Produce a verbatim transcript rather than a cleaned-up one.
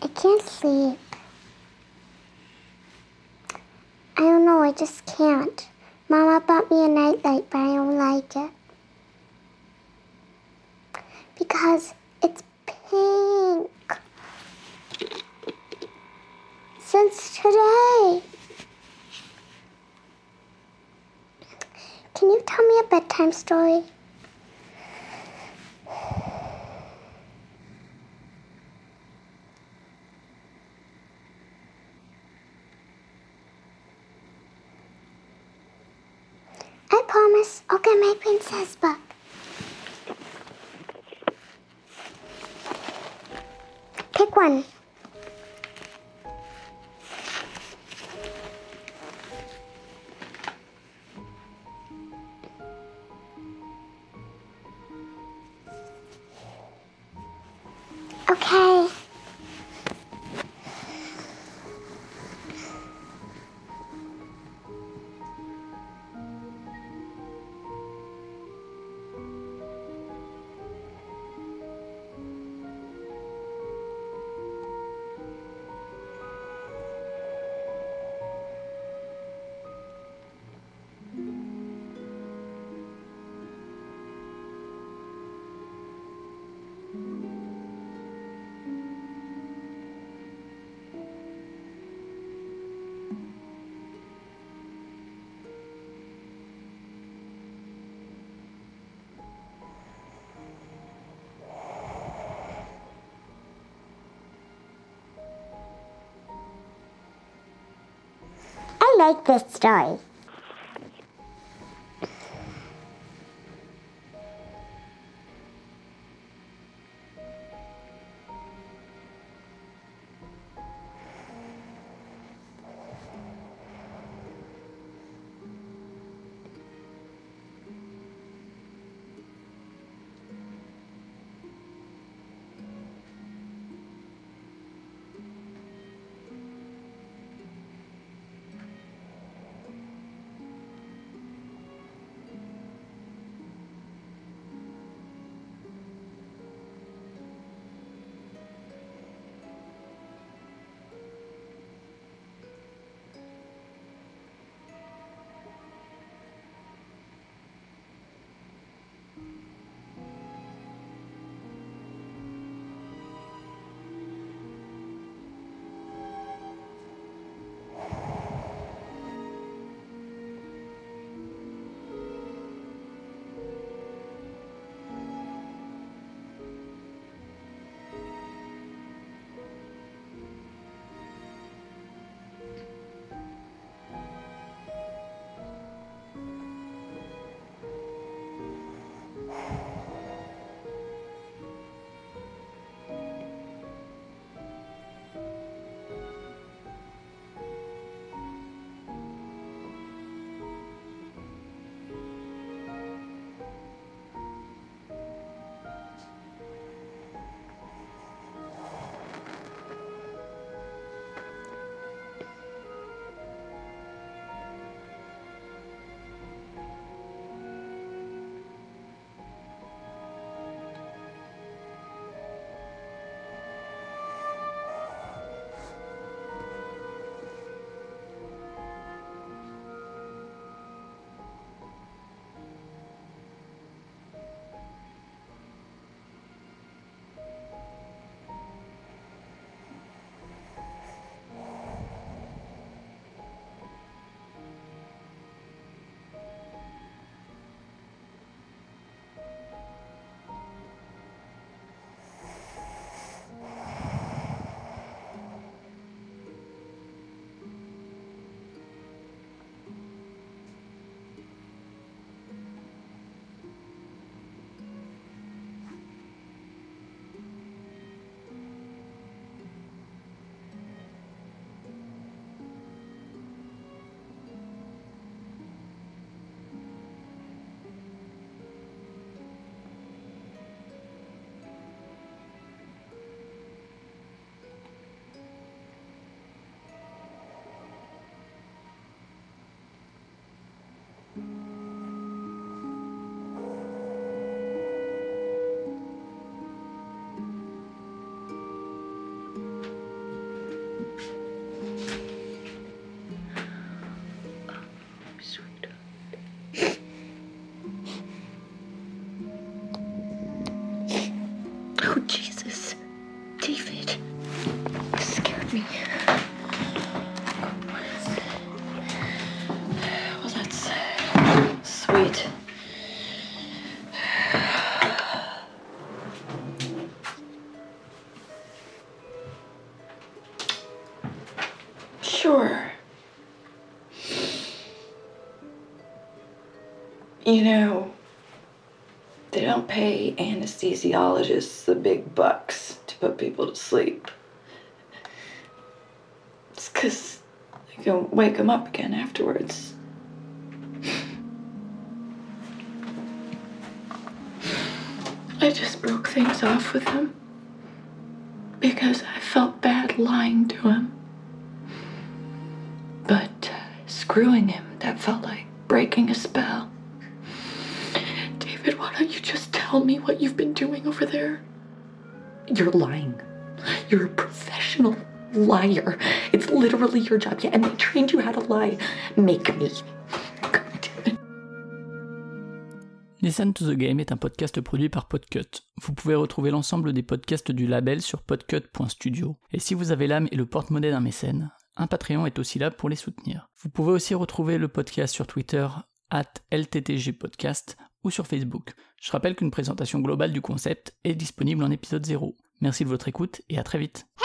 I can't sleep. I don't know, I just can't. Mama bought me a nightlight, but I don't like it. Because it's pink. Since today. Can you tell me a bedtime story? I promise I'll get my princess book. Pick one. Okay. I like this story. Sure. You know, they don't pay anesthesiologists the big bucks to put people to sleep. It's 'cause they can wake them up again afterwards. I just broke things off with him because I felt bad lying to him. But uh, screwing him, that felt like breaking a spell. David, why don't you just tell me what you've been doing over there? You're lying. You're a professional liar. It's literally your job. Yeah, and they trained you how to lie. Make me. Listen to the Game est un podcast produit par Podcut. Vous pouvez retrouver l'ensemble des podcasts du label sur podcut point studio. Et si vous avez l'âme et le porte-monnaie d'un mécène, un Patreon est aussi là pour les soutenir. Vous pouvez aussi retrouver le podcast sur Twitter arobase L T T G podcast ou sur Facebook. Je rappelle qu'une présentation globale du concept est disponible en épisode zéro. Merci de votre écoute et à très vite.